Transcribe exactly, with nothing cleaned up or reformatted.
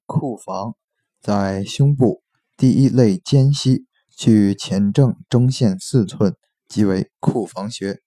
库房，在胸部第一肋间隙，距前正中线四寸，即为库房穴。